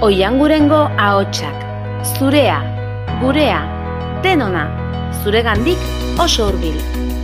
Oiangurengo ahotsak, zurea, gurea, denona, zuregandik oso hurbil.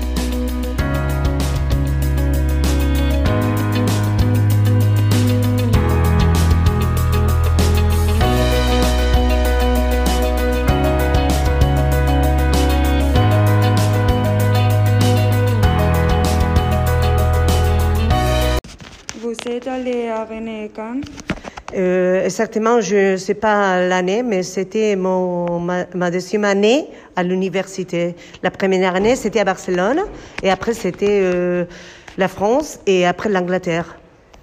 Vous êtes allé à Rennes quand? Exactement, je ne sais pas l'année, mais c'était ma deuxième année à l'université. La première année, c'était à Barcelone, et après, c'était la France, et après l'Angleterre.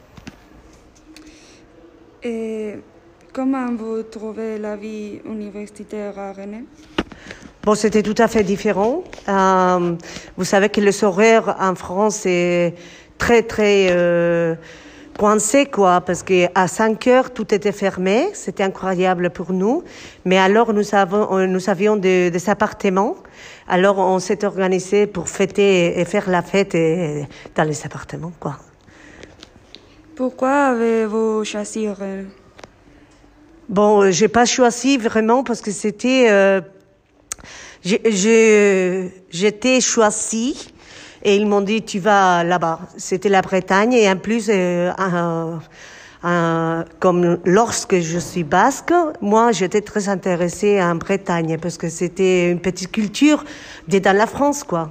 Et comment vous trouvez la vie universitaire à Rennes? Bon, c'était tout à fait différent. Vous savez que les horaires en France est très coincé, quoi, parce qu'à 5 heures, tout était fermé. C'était incroyable pour nous. Mais alors, nous avions des appartements. Alors, on s'est organisé pour fêter et faire la fête dans les appartements, quoi. Pourquoi avez-vous choisi Rennes? Bon, j'ai pas choisi vraiment parce que c'était... j'étais choisie. Et ils m'ont dit, tu vas là-bas. C'était la Bretagne. Et en plus, comme lorsque je suis basque, moi, j'étais très intéressée en Bretagne parce que c'était une petite culture dans la France, quoi.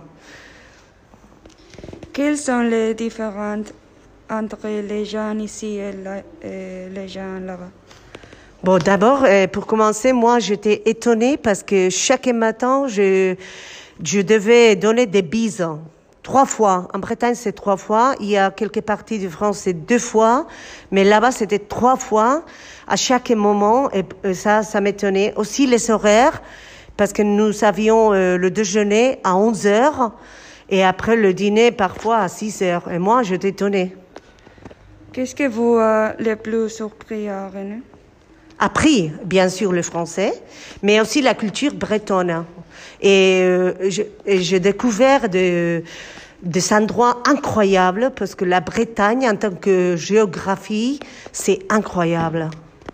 Quelles sont les différences entre les gens ici et les gens là-bas? Bon, d'abord, pour commencer, moi, j'étais étonnée parce que chaque matin, je devais donner des bises. 3 fois. En Bretagne, c'est 3 fois. Il y a quelques parties de France, c'est 2 fois. Mais là-bas, c'était 3 fois à chaque moment. Et ça m'étonnait. Aussi les horaires, parce que nous avions le déjeuner à 11 heures et après le dîner parfois à 6 heures. Et moi, j'étais étonnée. Qu'est-ce que vous a le plus surpris à Rennes? Appris, bien sûr, le français, mais aussi la culture bretonne. Et j'ai découvert des endroits incroyables parce que la Bretagne, en tant que géographie, c'est incroyable.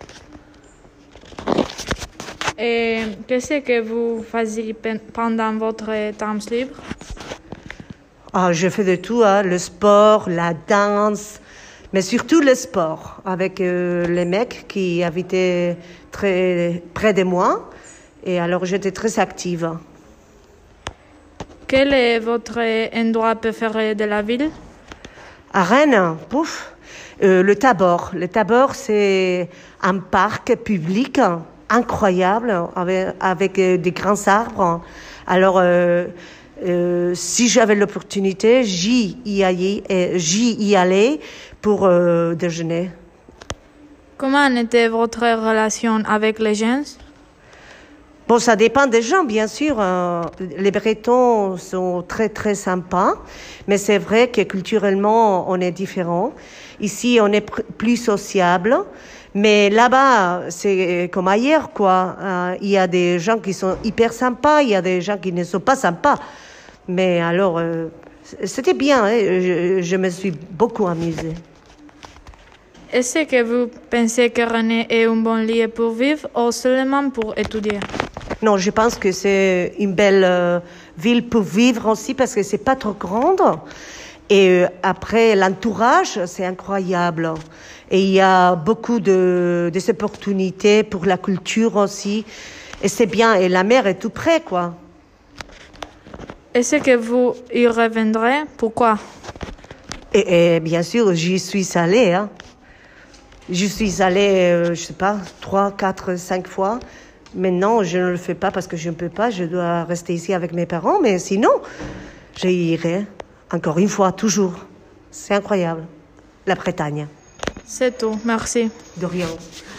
Et qu'est-ce que vous faisiez pendant votre temps libre? Je fais de tout, hein, le sport, la danse, mais surtout le sport, avec les mecs qui habitaient très près de moi. Et alors, j'étais très active. Quel est votre endroit préféré de la ville? À Rennes, le Tabor. Le Tabor, c'est un parc public incroyable avec des grands arbres. Alors, si j'avais l'opportunité, j'y y allais pour déjeuner. Comment était votre relation avec les gens? Bon, ça dépend des gens, bien sûr. Les Bretons sont très sympas, mais c'est vrai que culturellement, on est différents. Ici, on est plus sociable, mais là-bas, c'est comme ailleurs, quoi. Il y a des gens qui sont hyper sympas, il y a des gens qui ne sont pas sympas. Mais alors, c'était bien, hein. Je me suis beaucoup amusée. Est-ce que vous pensez que Rennes est un bon lieu pour vivre ou seulement pour étudier? Non, je pense que c'est une belle ville pour vivre aussi parce que c'est pas trop grande. Et après, l'entourage, c'est incroyable. Et il y a beaucoup de opportunités pour la culture aussi. Et c'est bien. Et la mer est tout près, quoi. Est-ce que vous y reviendrez? Pourquoi? Et bien sûr, j'y suis allée, hein. Je suis allée, je sais pas, 3, 4, 5 fois. Maintenant, je ne le fais pas parce que je ne peux pas. Je dois rester ici avec mes parents. Mais sinon, j'irai encore une fois, toujours. C'est incroyable. La Bretagne. C'est tout. Merci. De rien.